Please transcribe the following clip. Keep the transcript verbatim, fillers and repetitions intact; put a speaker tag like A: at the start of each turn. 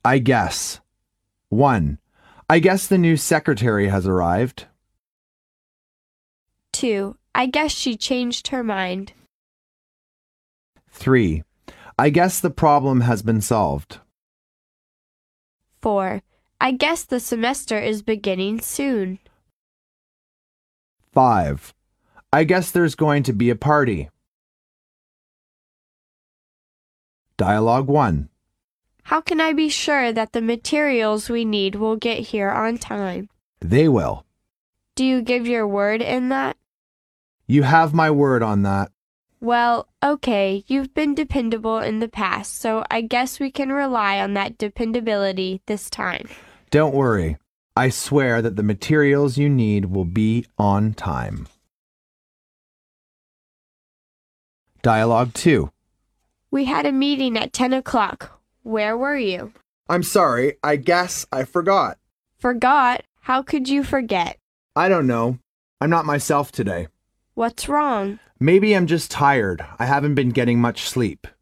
A: I guess. one. I guess the new secretary has arrived.
B: two. I guess she changed her mind.
A: three. I guess the problem has been solved.
B: four. I guess the semester is beginning soon.
A: five. I guess there's going to be a party. Dialogue one.
B: How can I be sure that the materials we need will get here on time?
A: They will.
B: Do you give your word in that?
A: You have my word on that.
B: Well, okay, you've been dependable in the past, so I guess we can rely on that dependability this time.
A: Don't worry. I swear that the materials you need will be on time. Dialogue two.
B: We had a meeting at ten o'clock. Where were you?
A: I'm sorry, I guess I forgot.
B: Forgot? How could you forget?
A: I don't know. I'm not myself today.
B: What's wrong?
A: Maybe I'm just tired. I haven't been getting much sleep.